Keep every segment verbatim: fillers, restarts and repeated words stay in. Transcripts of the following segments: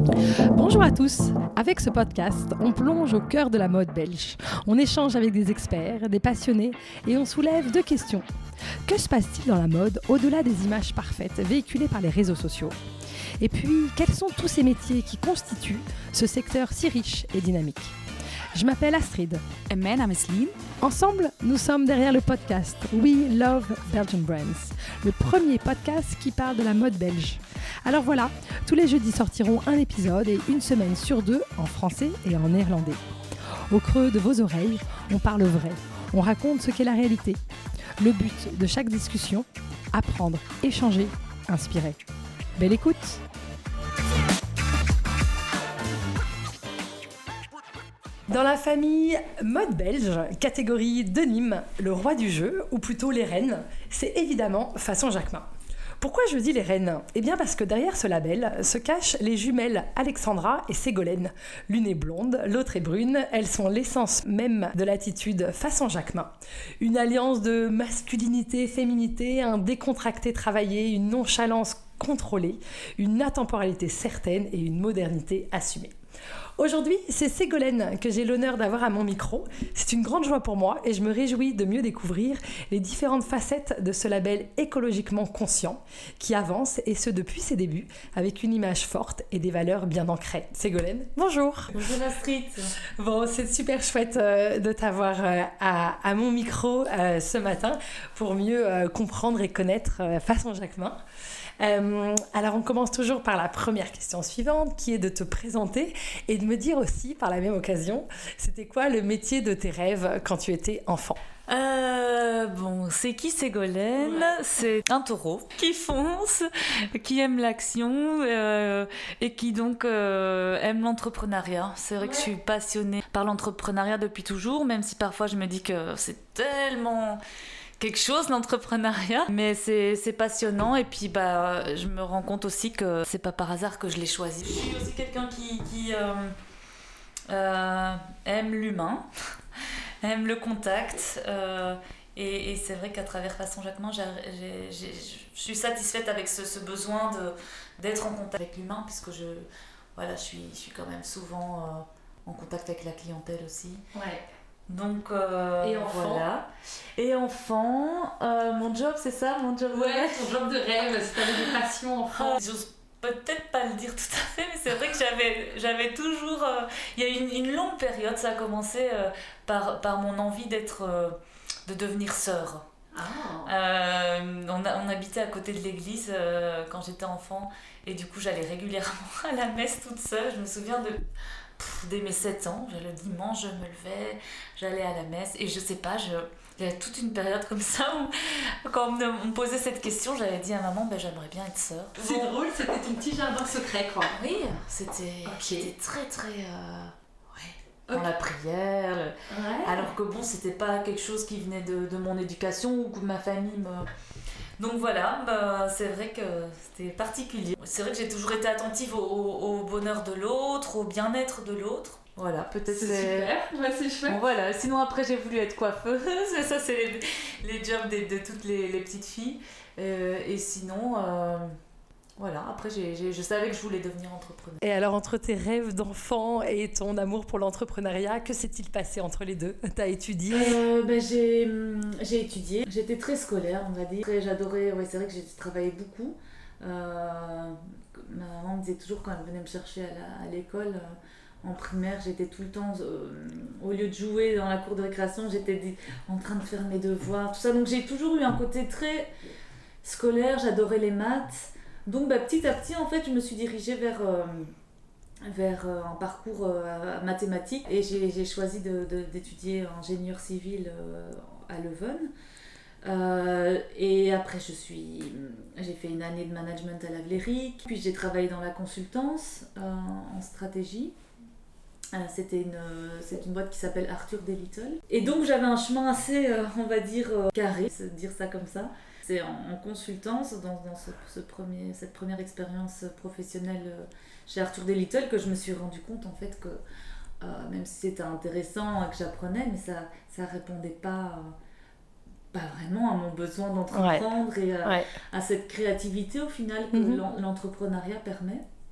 Bonjour à tous. Avec ce podcast, on plonge au cœur de la mode belge. On échange avec des experts, des passionnés et on soulève deux questions. Que se passe-t-il dans la mode au-delà des images parfaites véhiculées par les réseaux sociaux ? Et puis, quels sont tous ces métiers qui constituent ce secteur si riche et dynamique ? Je m'appelle Astrid. En mijn naam is Lien. Ensemble, nous sommes derrière le podcast We Love Belgian Brands, le premier podcast qui parle de la mode belge. Alors voilà, tous les jeudis sortiront un épisode et une semaine sur deux en français et en néerlandais. Au creux de vos oreilles, on parle vrai, on raconte ce qu'est la réalité. Le but de chaque discussion, apprendre, échanger, inspirer. Belle écoute! Dans la famille mode belge, catégorie de Nîmes, le roi du jeu, ou plutôt les reines, c'est évidemment Façon Jacquemin. Pourquoi je dis les reines ? Eh bien parce que derrière ce label se cachent les jumelles Alexandra et Ségolène. L'une est blonde, l'autre est brune, elles sont l'essence même de l'attitude Façon Jacquemin. Une alliance de masculinité, féminité, un décontracté travaillé, une nonchalance contrôlée, une atemporalité certaine et une modernité assumée. Aujourd'hui, c'est Ségolène que j'ai l'honneur d'avoir à mon micro. C'est une grande joie pour moi et je me réjouis de mieux découvrir les différentes facettes de ce label écologiquement conscient qui avance, et ce depuis ses débuts, avec une image forte et des valeurs bien ancrées. Ségolène, bonjour. Bonjour Astrid. Bon, c'est super chouette euh, de t'avoir euh, à, à mon micro euh, ce matin pour mieux euh, comprendre et connaître euh, Façon Jacquemin. Euh, alors on commence toujours par la première question suivante, qui est de te présenter et de me dire aussi par la même occasion, c'était quoi le métier de tes rêves quand tu étais enfant ? Euh, bon, c'est qui Ségolène ? Ouais. C'est un taureau qui fonce, qui aime l'action euh, et qui donc euh, aime l'entrepreneuriat. C'est vrai ouais. que je suis passionnée par l'entrepreneuriat depuis toujours, même si parfois je me dis que c'est tellement quelque chose l'entrepreneuriat, mais c'est, c'est passionnant, et puis bah, je me rends compte aussi que c'est pas par hasard que je l'ai choisi. Je suis aussi quelqu'un qui, qui euh, euh, aime l'humain, aime le contact, euh, et, et c'est vrai qu'à travers Façon Jacquemin, j'ai, j'ai, j'ai, je suis satisfaite avec ce, ce besoin de, d'être en contact avec l'humain, puisque je, voilà, je, suis, je suis quand même souvent euh, en contact avec la clientèle aussi. Ouais. Donc euh, et enfant. Voilà. Et enfant, euh, mon job, c'est ça, mon job. Ouais, ton job de rêve, si t'avais des passions enfant. Euh, j'ose peut-être pas le dire tout à fait, mais c'est vrai que j'avais, j'avais toujours. Euh, il y a eu une, une longue période, ça a commencé euh, par, par mon envie d'être, euh, de devenir sœur. Ah. Euh, on, a, on habitait à côté de l'église euh, quand j'étais enfant, et du coup j'allais régulièrement à la messe toute seule. Je me souviens de. Pff, dès mes sept ans, le dimanche, je me levais, j'allais à la messe, et je sais pas, je, il y avait toute une période comme ça où, quand on me, on me posait cette question, j'avais dit à maman, ben, j'aimerais bien être sœur. C'est bon. Drôle, c'était ton petit jardin secret, quoi. Oui, c'était, okay. c'était très très. Euh, ouais, dans okay. la prière, ouais. alors que bon, c'était pas quelque chose qui venait de, de mon éducation ou que ma famille me. Donc voilà, bah, c'est vrai que c'était particulier. C'est vrai que j'ai toujours été attentive au, au, au bonheur de l'autre, au bien-être de l'autre. Voilà, peut-être c'est les... super, ouais, c'est chouette. Bon, voilà. Sinon après j'ai voulu être coiffeuse, ça c'est les, les jobs de, de toutes les, les petites filles. Euh, et sinon, euh, voilà, après j'ai, j'ai, je savais que je voulais devenir entrepreneur. Et alors entre tes rêves d'enfant et ton amour pour l'entrepreneuriat, que s'est-il passé entre les deux ? T'as étudié ? euh, ben, j'ai, j'ai étudié, j'étais très scolaire on va dire. Après, j'adorais, ouais, c'est vrai que j'ai travaillé beaucoup. Euh, ma maman me disait toujours quand elle venait me chercher à, la, à l'école, euh, en primaire, j'étais tout le temps, euh, au lieu de jouer dans la cour de récréation, j'étais en train de faire mes devoirs, tout ça. Donc j'ai toujours eu un côté très scolaire, j'adorais les maths. Donc bah, petit à petit, en fait, je me suis dirigée vers, euh, vers euh, un parcours euh, mathématique, et j'ai, j'ai choisi de, de, d'étudier ingénieur civil euh, à Leuven. Euh, et après, je suis, j'ai fait une année de management à la Vlerick, puis j'ai travaillé dans la consultance euh, en stratégie. Euh, c'était une, c'est une boîte qui s'appelle Arthur D. Little. Et donc j'avais un chemin assez, euh, on va dire, euh, carré, dire ça comme ça. C'est en, en consultance, dans, dans ce, ce premier, cette première expérience professionnelle chez Arthur D. Little, que je me suis rendu compte en fait que euh, même si c'était intéressant et que j'apprenais, mais ça ça répondait pas, pas vraiment à mon besoin d'entreprendre, ouais. et à, ouais. à cette créativité au final que mm-hmm. l'entrepreneuriat permet.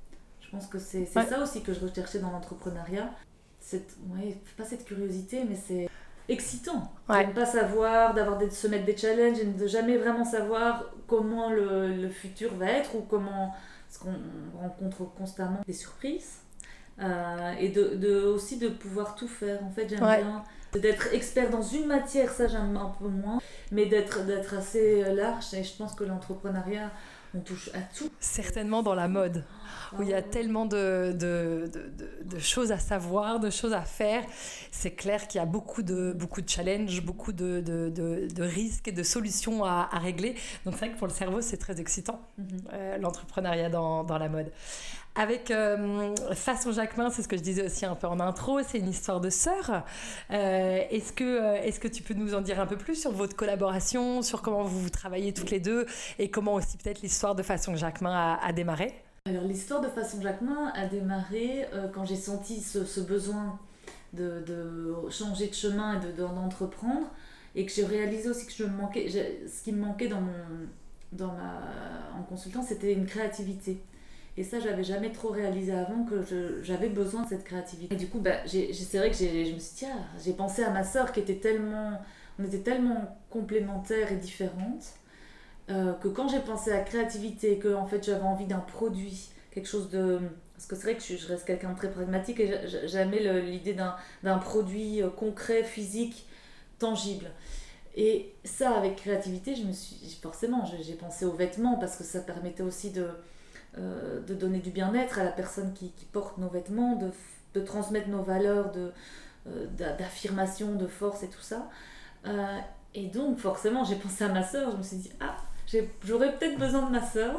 Je pense que c'est, c'est Ouais. ça aussi que je recherchais dans l'entrepreneuriat. Cette, ouais, pas cette curiosité, mais c'est excitant. Ouais. De ne pas savoir, d'avoir des, de se mettre des challenges et de jamais vraiment savoir comment le, le futur va être ou comment... Parce qu'on rencontre constamment des surprises. Euh, et de, de, aussi de pouvoir tout faire. En fait, j'aime Ouais. bien d'être expert dans une matière, ça j'aime un peu moins, mais d'être, d'être assez large. Et je pense que l'entrepreneuriat, on touche à tout. Certainement dans la mode, où il y a tellement de, de, de, de, de choses à savoir, de choses à faire. C'est clair qu'il y a beaucoup de, beaucoup de challenges, beaucoup de, de, de, de risques et de solutions à, à régler. Donc c'est vrai que pour le cerveau, c'est très excitant, Mm-hmm. euh, l'entrepreneuriat dans, dans la mode. Avec euh, Façon Jacquemin, c'est ce que je disais aussi un peu en intro, c'est une histoire de sœurs. Euh, est-ce que, euh, est-ce que tu peux nous en dire un peu plus sur votre collaboration, sur comment vous, vous travaillez toutes les deux et comment aussi peut-être l'histoire de Façon Jacquemin a, a démarré? Alors l'histoire de Façon Jacquemin a démarré euh, quand j'ai senti ce, ce besoin de, de changer de chemin et de, de, d'entreprendre, et que j'ai réalisé aussi que je me manquais, j'ai, ce qui me manquait dans mon, dans ma, en consultant, c'était une créativité. Et ça, j'avais jamais trop réalisé avant que je, j'avais besoin de cette créativité. Et du coup, bah, j'ai, j'ai, c'est vrai que j'ai, je me suis dit, ah, j'ai pensé à ma sœur qui était tellement, on était tellement complémentaires et différentes, euh, que quand j'ai pensé à créativité, que en fait j'avais envie d'un produit, quelque chose de... Parce que c'est vrai que je, je reste quelqu'un de très pragmatique et j'aimais le, l'idée d'un, d'un produit concret, physique, tangible. Et ça, avec créativité, je me suis, forcément, j'ai pensé aux vêtements parce que ça permettait aussi de... Euh, de donner du bien-être à la personne qui, qui porte nos vêtements, de, de transmettre nos valeurs de, euh, d'affirmation, de force et tout ça. Euh, et donc forcément j'ai pensé à ma sœur, je me suis dit ah, j'ai, j'aurais peut-être besoin de ma sœur.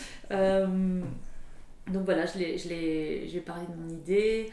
Euh, donc voilà, je l'ai, je l'ai, j'ai parlé de mon idée.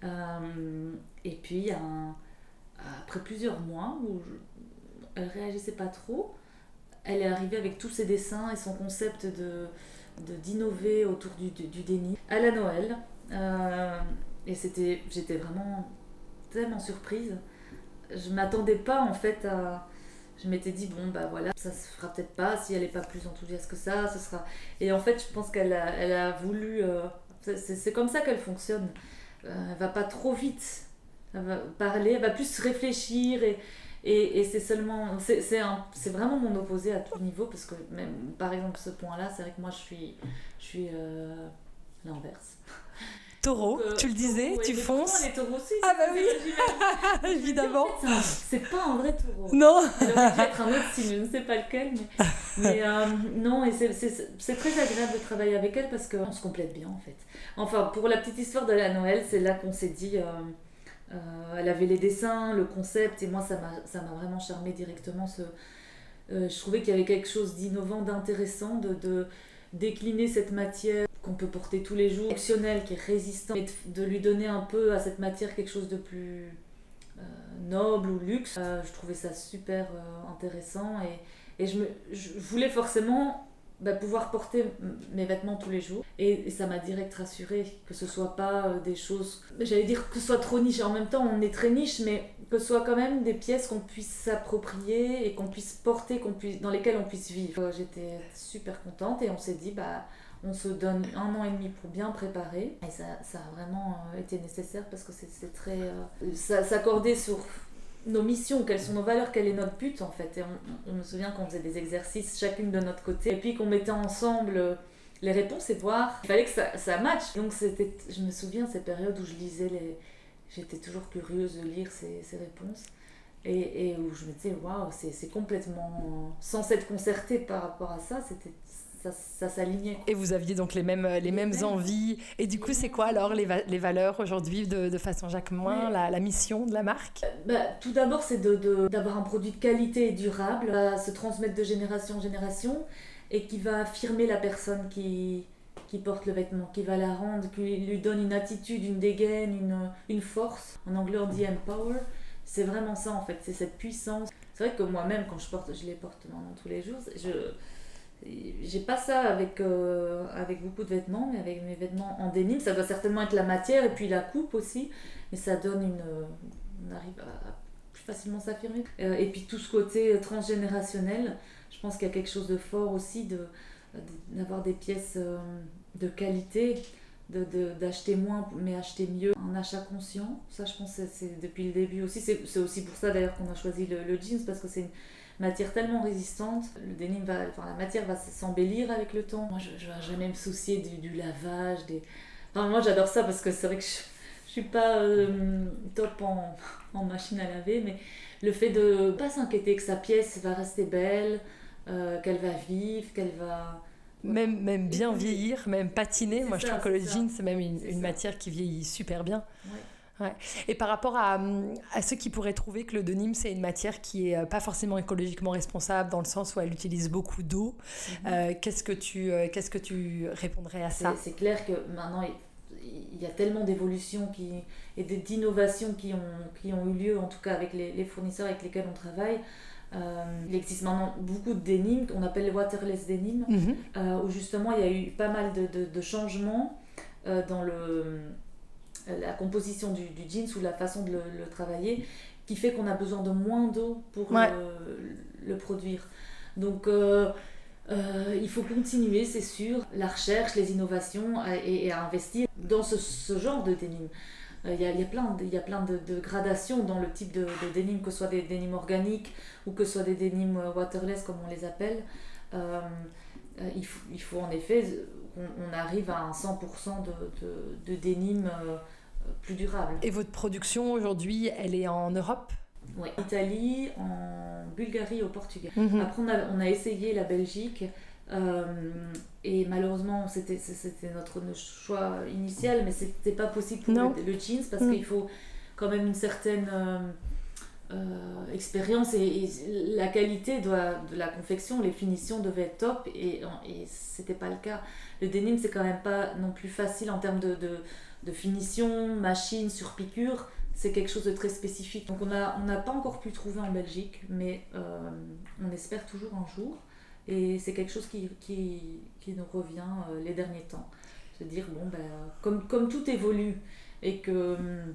Euh, et puis un, après plusieurs mois où je, elle réagissait pas trop, elle est arrivée avec tous ses dessins et son concept de De, d'innover autour du, du, du déni à la Noël, euh, et c'était, j'étais vraiment tellement surprise. Je m'attendais pas en fait à, je m'étais dit bon bah voilà, ça se fera peut-être pas si elle est pas plus enthousiaste que ça, ce sera. Et en fait je pense qu'elle a, elle a voulu, euh, c'est, c'est comme ça qu'elle fonctionne, euh, elle va pas trop vite, elle va parler, elle va plus réfléchir et Et, et c'est seulement, c'est, c'est, un, c'est vraiment mon opposé à tout niveau, parce que même, par exemple, ce point-là, c'est vrai que moi, je suis, je suis euh, l'inverse. Taureau, Donc, euh, tu le disais, ouais, tu fonces. Les taureaux aussi. Ah bah oui, j'imagine. évidemment. En fait, c'est, c'est pas un vrai taureau. Non. Elle aurait dû être un autre signe, je ne sais pas lequel, mais, mais euh, non, et c'est, c'est, c'est très agréable de travailler avec elle parce qu'on se complète bien en fait. Enfin, pour la petite histoire de la Noël, c'est là qu'on s'est dit. Euh, Euh, elle avait les dessins, le concept, et moi ça m'a, ça m'a vraiment charmé directement. Ce, euh, je trouvais qu'il y avait quelque chose d'innovant, d'intéressant, de, de décliner cette matière qu'on peut porter tous les jours, fonctionnelle, qui est résistante, et de, de lui donner un peu à cette matière quelque chose de plus euh, noble ou luxe. Euh, je trouvais ça super euh, intéressant, et, et je, me, je voulais forcément bah, pouvoir porter mes vêtements tous les jours, et, et ça m'a direct rassurée que ce soit pas euh, des choses, j'allais dire que ce soit trop niche, en même temps on est très niche, mais que ce soit quand même des pièces qu'on puisse s'approprier et qu'on puisse porter, qu'on puisse, dans lesquelles on puisse vivre. J'étais super contente et on s'est dit bah on se donne un an et demi pour bien préparer, et ça, ça a vraiment euh, été nécessaire parce que c'est, c'est très euh, ça s'accordait sur nos missions, quelles sont nos valeurs, quel est notre but en fait. Et on, on me souvient qu'on faisait des exercices chacune de notre côté, et puis qu'on mettait ensemble les réponses et voir, il fallait que ça, ça matche. Donc c'était, je me souviens ces périodes où je lisais les, j'étais toujours curieuse de lire ces, ces réponses, et, et où je me disais waouh, c'est, c'est complètement sans s'être concerté par rapport à ça, c'était Ça, ça s'alignait. Et vous aviez donc les mêmes, les mêmes mêmes. envies. Et du coup, c'est quoi alors les, va- les valeurs aujourd'hui de, de Façon Jacquemin, Oui. la, la mission de la marque? Bah, tout d'abord, c'est de, de, d'avoir un produit de qualité et durable, qui va se transmettre de génération en génération et qui va affirmer la personne qui, qui porte le vêtement, qui va la rendre, qui lui donne une attitude, une dégaine, une, une force. En anglais, on dit empower. C'est vraiment ça en fait, c'est cette puissance. C'est vrai que moi-même, quand je porte, je les porte maintenant tous les jours, je... j'ai pas ça avec, euh, avec beaucoup de vêtements, mais avec mes vêtements en dénime, ça doit certainement être la matière et puis la coupe aussi, mais ça donne une... on arrive à, à plus facilement s'affirmer. Euh, et puis tout ce côté transgénérationnel, je pense qu'il y a quelque chose de fort aussi, de, de, d'avoir des pièces euh, de qualité, de, de, d'acheter moins mais acheter mieux, un achat conscient. Ça je pense que c'est, c'est depuis le début aussi, c'est, c'est aussi pour ça d'ailleurs qu'on a choisi le, le jeans, parce que c'est une matière tellement résistante, le denim va, enfin la matière va s'embellir avec le temps. Moi je ne vais jamais me soucier du, du lavage, des... enfin, moi j'adore ça parce que c'est vrai que je, je suis pas euh, top en, en machine à laver, mais le fait de pas s'inquiéter que sa pièce va rester belle, euh, qu'elle va vivre, qu'elle va... Même, même bien vieillir, même patiner. C'est Moi, ça, je trouve que le ça. jean, c'est même une, C'est une ça. matière qui vieillit super bien. Ouais. Ouais. Et par rapport à, à ceux qui pourraient trouver que le denim, c'est une matière qui n'est pas forcément écologiquement responsable, dans le sens où elle utilise beaucoup d'eau, mm-hmm. euh, qu'est-ce que tu, euh, qu'est-ce que tu répondrais à ça ? C'est, c'est clair que maintenant, il y a tellement d'évolutions qui, et d'innovations qui ont, qui ont eu lieu, en tout cas avec les, les fournisseurs avec lesquels on travaille. Euh, il existe maintenant beaucoup de denim qu'on appelle les waterless denim, mm-hmm. euh, où justement il y a eu pas mal de, de, de changements euh, dans le, la composition du, du jeans ou la façon de le, le travailler, qui fait qu'on a besoin de moins d'eau pour ouais. le, le produire. Donc euh, euh, il faut continuer, c'est sûr, la recherche, les innovations et, et à investir dans ce, ce genre de denim. Il y, a, il y a plein, de, il y a plein de, de gradations dans le type de, de denim, que ce soit des dénimes organiques ou que ce soit des dénimes waterless comme on les appelle. Euh, il, faut, il faut en effet qu'on on arrive à un cent pour cent de, de, de dénimes euh, plus durables. Et votre production aujourd'hui, elle est en Europe ? Oui, en Italie, en Bulgarie et au Portugal. Mm-hmm. Après on a, on a essayé la Belgique. Euh, et malheureusement c'était, c'était notre choix initial, mais c'était pas possible pour le, le jeans parce mm. qu'il faut quand même une certaine euh, euh, expérience et, et la qualité doit, de la confection, les finitions devaient être top et, et c'était pas le cas. Le denim c'est quand même pas non plus facile en termes de, de, de finition, machine, sur piqûre, c'est quelque chose de très spécifique. Donc on a, on n'a pas encore pu trouver en Belgique, mais euh, on espère toujours un jour. Et c'est quelque chose qui, qui, qui nous revient euh, les derniers temps. Se dire, bon, ben, comme, comme tout évolue et que hum,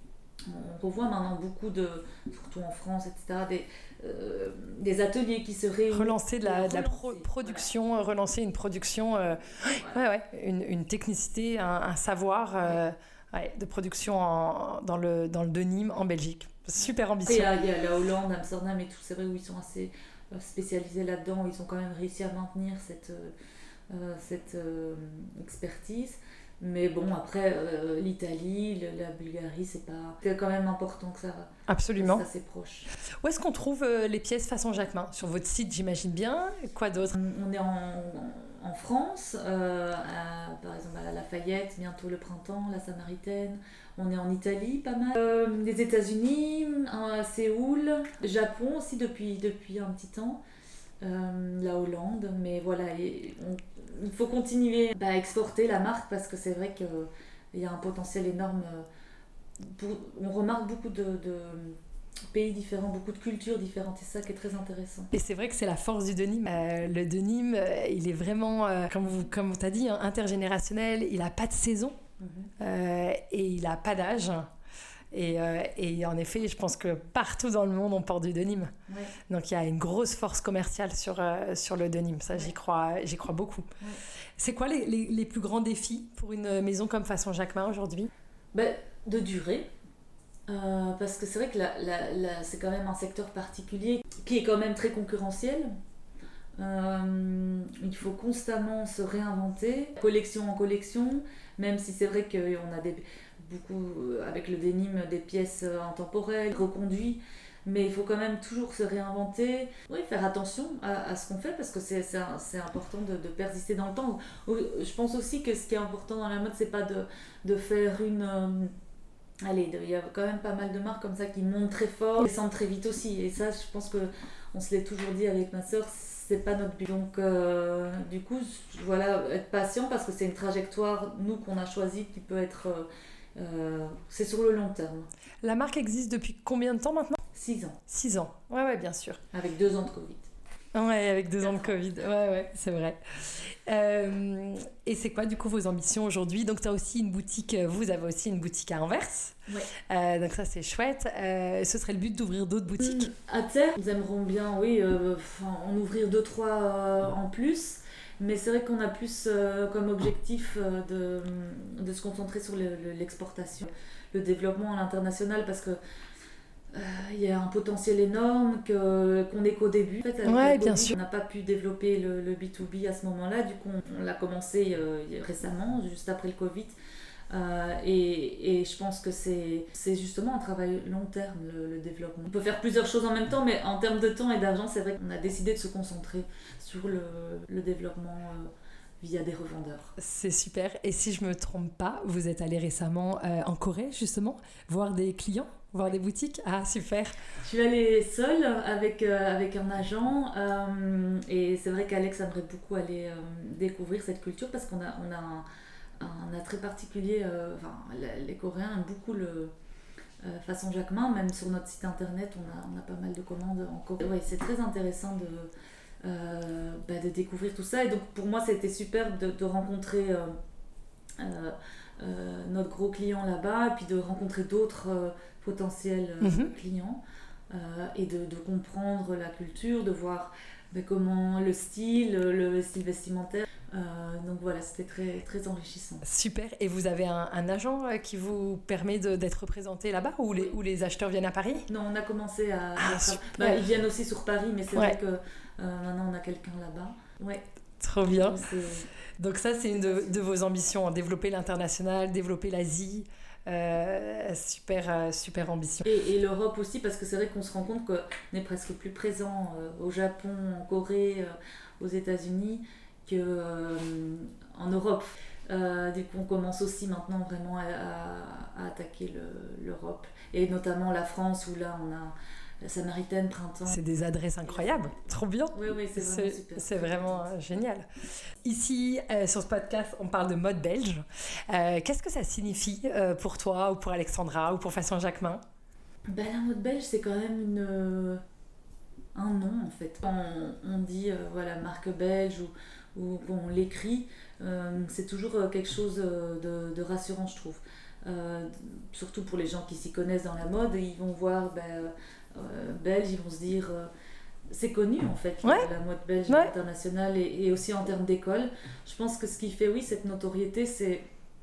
on revoit maintenant beaucoup de, surtout en France, et cetera, des, euh, des ateliers qui se réunissent. Relancer de la, de la pro- production, voilà. Relancer une production, euh, ouais, ouais, une, une technicité, un, un savoir euh, ouais, de production en, dans, le, dans le denim en Belgique. Super ambitieux. Il y, y a la Hollande, Amsterdam et tout, c'est vrai où ils sont assez spécialisés là-dedans, ils ont quand même réussi à maintenir cette, euh, cette euh, expertise. Mais bon, après, euh, l'Italie, le, la Bulgarie, c'est pas... C'est quand même important que ça... Absolument. Ça, c'est proche. Où est-ce qu'on trouve euh, les pièces façon Jacquemin ? Sur votre site, j'imagine bien. Quoi d'autre ? On est en, en France, euh, à, par exemple à Lafayette, bientôt le printemps, la Samaritaine. On est en Italie, pas mal. Euh, les États-Unis, à Séoul, Japon aussi depuis, depuis un petit temps. Euh, la Hollande, mais voilà, et on, il faut continuer à exporter la marque parce que c'est vrai qu'il y a un potentiel énorme. Pour, on remarque beaucoup de, de pays différents, beaucoup de cultures différentes, et c'est ça qui est très intéressant. Et c'est vrai que c'est la force du denim. Euh, le denim, euh, il est vraiment, euh, comme, vous, comme tu as dit, hein, intergénérationnel, il n'a pas de saison. Mmh. Euh, et il n'a pas d'âge et, euh, et en effet je pense que partout dans le monde on porte du denim, ouais. Donc il y a une grosse force commerciale sur, euh, sur le denim, ça ouais. j'y, crois, j'y crois beaucoup. Ouais. C'est quoi les, les, les plus grands défis pour une maison comme Façon Jacquemin aujourd'hui ? Ben, de durer, euh, parce que c'est vrai que la, la, la, c'est quand même un secteur particulier qui est quand même très concurrentiel. Euh, il faut constamment se réinventer, collection en collection, même si c'est vrai qu'on a des, beaucoup, avec le denim, des pièces intemporelles, reconduites, mais il faut quand même toujours se réinventer, oui, faire attention à, à ce qu'on fait, parce que c'est, c'est, c'est important de, de persister dans le temps. Je pense aussi que ce qui est important dans la mode, c'est pas de, de faire une... Euh, allez, il y a quand même pas mal de marques comme ça qui montent très fort, descendent très vite aussi, et ça, je pense qu'on se l'est toujours dit avec ma sœur, c'est pas notre but. Donc euh, du coup, voilà, être patient parce que c'est une trajectoire, nous, qu'on a choisie, qui peut être... Euh, euh, c'est sur le long terme. La marque existe depuis combien de temps maintenant ? Six ans. Six ans, ouais, ouais, bien sûr. Avec deux ans de Covid. Ouais, avec deux ans de Covid, ouais, ouais, c'est vrai. Euh, et c'est quoi, du coup, vos ambitions aujourd'hui ? Donc, tu as aussi une boutique, vous avez aussi une boutique à Anvers. Ouais. Euh, donc, ça, c'est chouette. Euh, ce serait le but d'ouvrir d'autres boutiques ? À terme, nous aimerions bien, oui, euh, en ouvrir deux, trois euh, en plus. Mais c'est vrai qu'on a plus euh, comme objectif euh, de, de se concentrer sur le, le, l'exportation, le développement à l'international, parce que il euh, y a un potentiel énorme que, qu'on n'est qu'au début. En fait, avec ouais, le bien Covid, sûr. on n'a pas pu développer le, le B deux B à ce moment-là, du coup on, on l'a commencé euh, récemment, juste après le Covid. Euh, et, et je pense que c'est, c'est justement un travail long terme, le, le développement. On peut faire plusieurs choses en même temps, mais en termes de temps et d'argent, c'est vrai qu'on a décidé de se concentrer sur le, le développement euh, via des revendeurs. C'est super. Et si je me trompe pas, vous êtes allé récemment euh, en Corée, justement, voir des clients, voir des boutiques. Ah, super. Je suis allée seule avec, euh, avec un agent euh, et c'est vrai qu'Alex aimerait beaucoup aller euh, découvrir cette culture parce qu'on a, on a un un attrait particulier, euh, enfin, les Coréens aiment beaucoup le euh, façon Jacquemin, même sur notre site internet on a, on a pas mal de commandes en Corée. Ouais, c'est très intéressant de, euh, bah, de découvrir tout ça, et donc pour moi c'était super de, de rencontrer euh, euh, euh, notre gros client là-bas, et puis de rencontrer d'autres euh, potentiels euh, mm-hmm. clients, euh, et de, de comprendre la culture, de voir bah, comment le style, le style vestimentaire. Euh, donc voilà, c'était très, très enrichissant. Super. Et vous avez un, un agent qui vous permet de, d'être représenté là-bas, ou les, ou les acheteurs viennent à Paris ? Non, on a commencé à... Ah, à super. Bah, ils viennent aussi sur Paris, mais c'est ouais. vrai que euh, maintenant on a quelqu'un là-bas. Ouais. Trop bien. Donc, donc ça, c'est une de, de vos ambitions, développer l'international, développer l'Asie. Euh, super, euh, super ambition. Et, et l'Europe aussi, parce que c'est vrai qu'on se rend compte qu'on est presque plus présent euh, au Japon, en Corée, euh, aux États-Unis, qu'en euh, Europe. Euh, du coup, on commence aussi maintenant vraiment à, à, à attaquer le, l'Europe, et notamment la France, où là on a la Samaritaine, Printemps. C'est des adresses incroyables, trop bien. Oui, oui, c'est vraiment c'est, super. C'est vraiment euh, génial. Ici, euh, sur ce podcast, on parle de mode belge. Euh, qu'est-ce que ça signifie euh, pour toi, ou pour Alexandra, ou pour Façon Jacquemin ? Ben, la mode belge, c'est quand même une, euh, un nom en fait. Quand on, on dit euh, voilà, marque belge, ou ou qu'on l'écrit, euh, c'est toujours quelque chose de, de rassurant, je trouve. Euh, surtout pour les gens qui s'y connaissent dans la mode, ils vont voir ben, euh, belge, ils vont se dire euh, c'est connu en fait, ouais. la mode belge ouais. internationale, et, et aussi en termes d'école. Je pense que ce qui fait oui cette notoriété, c'est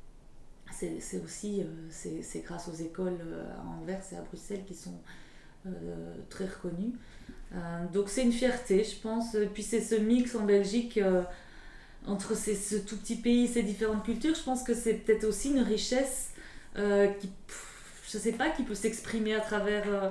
c'est, c'est aussi euh, c'est, c'est grâce aux écoles à Anvers et à Bruxelles qui sont euh, très reconnues. Euh, donc c'est une fierté, je pense. Et puis c'est ce mix en Belgique euh, entre ces, ce tout petit pays, ces différentes cultures. Je pense que c'est peut-être aussi une richesse euh, qui, pff, je sais pas, qui peut s'exprimer à travers euh,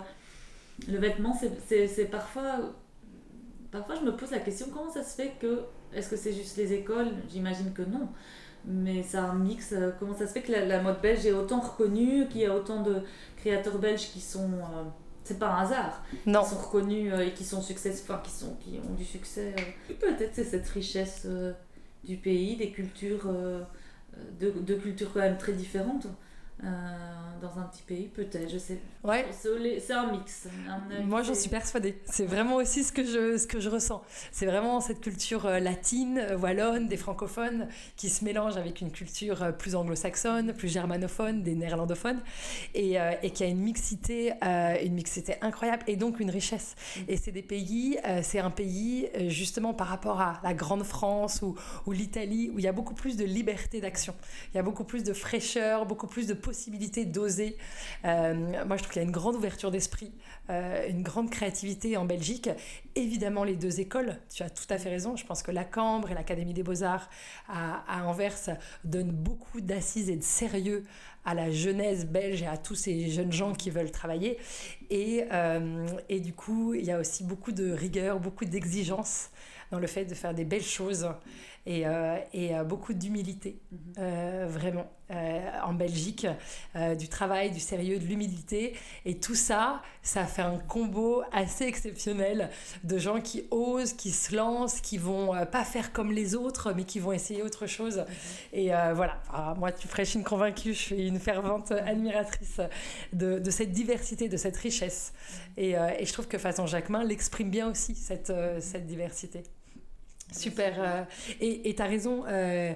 le vêtement. C'est, c'est, c'est parfois, parfois je me pose la question, comment ça se fait que, est-ce que c'est juste les écoles ? J'imagine que non. Mais c'est un mix. Euh, comment ça se fait que la, la mode belge est autant reconnue, qu'il y a autant de créateurs belges qui sont... Euh, c'est pas un hasard. Non. Qui sont reconnus euh, et qui sont succès, enfin, qui, sont, qui ont du succès. Euh. Peut-être c'est cette richesse euh, du pays, des cultures, euh, de, de cultures quand même très différentes. Euh, dans un petit pays, peut-être, je sais. Ouais. C'est, c'est un mix. Un Moi, j'en suis persuadée. C'est vraiment aussi ce que je, ce que je ressens. C'est vraiment cette culture latine, wallonne, des francophones qui se mélangent avec une culture plus anglo-saxonne, plus germanophone, des néerlandophones, et, euh, et qui a une mixité, euh, une mixité incroyable, et donc une richesse. Mmh. Et c'est des pays, euh, c'est un pays, justement, par rapport à la grande France ou, ou l'Italie, où il y a beaucoup plus de liberté d'action. Il y a beaucoup plus de fraîcheur, beaucoup plus de possibilité d'oser. Euh, moi, je trouve qu'il y a une grande ouverture d'esprit, euh, une grande créativité en Belgique. Évidemment, les deux écoles, tu as tout à fait raison. Je pense que la Cambre et l'Académie des Beaux-Arts à, à Anvers donnent beaucoup d'assises et de sérieux à la jeunesse belge et à tous ces jeunes gens qui veulent travailler. Et, euh, et du coup, il y a aussi beaucoup de rigueur, beaucoup d'exigence dans le fait de faire des belles choses, et, euh, et euh, beaucoup d'humilité, mmh. euh, vraiment, euh, en Belgique, euh, du travail, du sérieux, de l'humilité, et tout ça, ça fait un combo assez exceptionnel de gens qui osent, qui se lancent, qui vont euh, pas faire comme les autres, mais qui vont essayer autre chose, mmh. et euh, voilà, alors, moi, tu ferais, je suis une convaincue, je suis une fervente admiratrice de, de cette diversité, de cette richesse, mmh. et, euh, et je trouve que Façon Jacquemin l'exprime bien aussi, cette, euh, cette diversité. Super. Euh, et tu as raison, euh,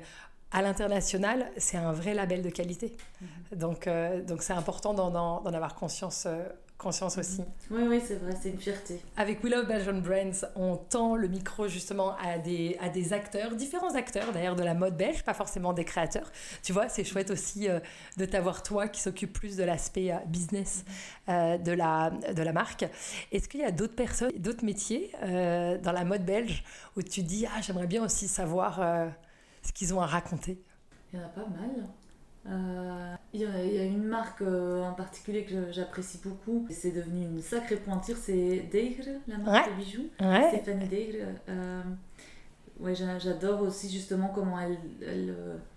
à l'international, c'est un vrai label de qualité. Mmh. Donc, euh, donc c'est important d'en, d'en, d'en avoir conscience, euh, conscience mmh. aussi. Oui, oui, c'est vrai, c'est une fierté. Avec We Love Belgian Brands, on tend le micro justement à des, à des acteurs, différents acteurs d'ailleurs de la mode belge, pas forcément des créateurs. Tu vois, c'est chouette aussi euh, de t'avoir toi qui s'occupe plus de l'aspect euh, business euh, de, la, de la marque. Est-ce qu'il y a d'autres personnes, d'autres métiers euh, dans la mode belge où tu dis « Ah, j'aimerais bien aussi savoir... Euh, » ce qu'ils ont à raconter? Il y en a pas mal. Euh, il, y a, il y a une marque euh, en particulier que j'apprécie beaucoup. C'est devenu une sacrée pointure, c'est Degre, la marque ouais. de bijoux. Ouais. Stéphanie Degre. Euh, ouais, j'adore aussi justement comment elle, elle,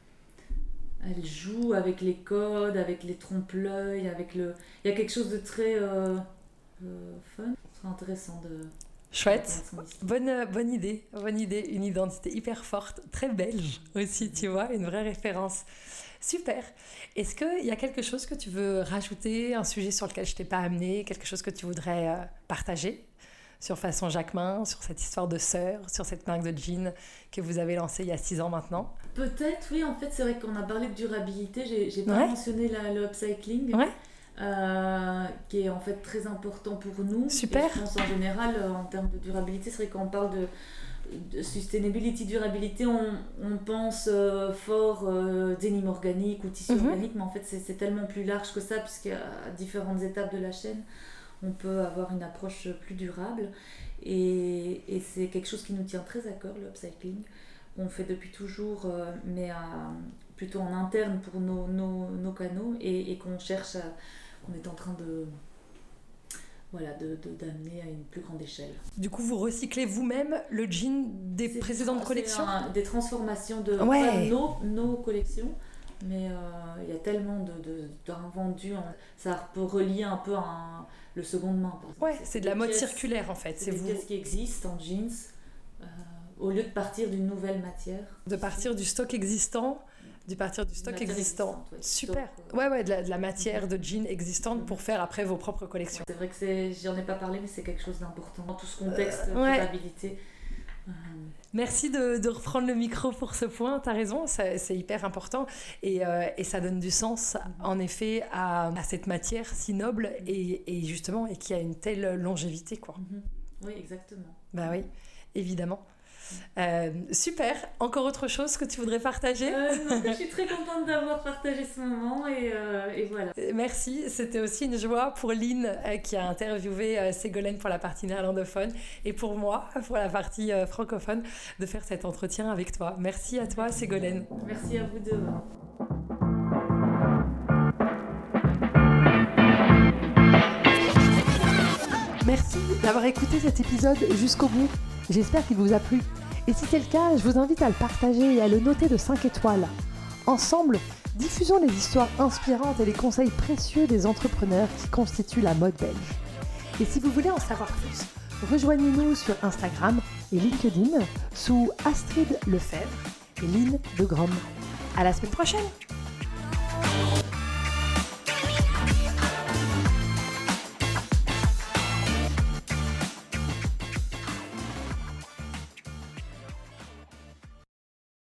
elle joue avec les codes, avec les trompe-l'œil, avec le... Il y a quelque chose de très euh, euh, fun, très intéressant de... Chouette, bonne, bonne idée, bonne idée, une identité hyper forte, très belge aussi, tu vois, une vraie référence. Super. Est-ce qu'il y a quelque chose que tu veux rajouter, un sujet sur lequel je ne t'ai pas amené, quelque chose que tu voudrais euh, partager sur Façon Jacquemin, sur cette histoire de sœur, sur cette marque de jeans que vous avez lancée il y a six ans maintenant? Peut-être, oui, en fait, c'est vrai qu'on a parlé de durabilité, j'ai, j'ai pas ouais. mentionné la, le upcycling. Ouais. Euh, qui est en fait très important pour nous. Super. Et je pense en général, euh, en termes de durabilité, c'est vrai qu'on parle de, de sustainability, durabilité, on, on pense euh, fort euh, denim organique ou tissu mm-hmm. organique, mais en fait c'est, c'est tellement plus large que ça, puisqu'à différentes étapes de la chaîne, on peut avoir une approche plus durable. Et, et c'est quelque chose qui nous tient très à cœur, le upcycling, qu'on fait depuis toujours, euh, mais à, plutôt en interne pour nos, nos, nos canaux, et, et qu'on cherche à qu'on est en train de, voilà, de, de, d'amener à une plus grande échelle. Du coup, vous recyclez vous-même le jean des c'est précédentes tra- collections? un, Des transformations de, ouais. pas de nos, nos collections, mais il euh, y a tellement de, de, d'invendus, hein. Ça peut relier un peu un, le seconde main. Par exemple. Ouais, c'est, c'est de la mode pièces, circulaire en fait. C'est, c'est des vous... pièces qui existent en jeans, euh, au lieu de partir d'une nouvelle matière. De partir du stock existant du partir du stock existant. Ouais. Super. Stock, ouais, ouais, de la, de la matière de jeans existante pour faire après vos propres collections. Ouais, c'est vrai que c'est, j'en ai pas parlé, mais c'est quelque chose d'important dans tout ce contexte de euh, ouais. durabilité. Euh... Merci de, de reprendre le micro pour ce point, t'as raison, ça, c'est hyper important et, euh, et ça donne du sens mm-hmm. en effet à, à cette matière si noble mm-hmm. et, et justement et qui a une telle longévité quoi. Mm-hmm. Oui, exactement. Bah oui, évidemment. Euh, super, encore autre chose que tu voudrais partager? euh, non, je suis très contente d'avoir partagé ce moment et, euh, et voilà. Merci, c'était aussi une joie pour Lynn euh, qui a interviewé euh, Ségolène pour la partie néerlandophone et pour moi pour la partie euh, francophone de faire cet entretien avec toi. Merci à toi Ségolène. Merci à vous deux. Merci d'avoir écouté cet épisode jusqu'au bout. J'espère qu'il vous a plu. Et si c'est le cas, je vous invite à le partager et à le noter de cinq étoiles. Ensemble, diffusons les histoires inspirantes et les conseils précieux des entrepreneurs qui constituent la mode belge. Et si vous voulez en savoir plus, rejoignez-nous sur Instagram et LinkedIn sous Astrid Lefebvre et Lynn de Grom. À la semaine prochaine!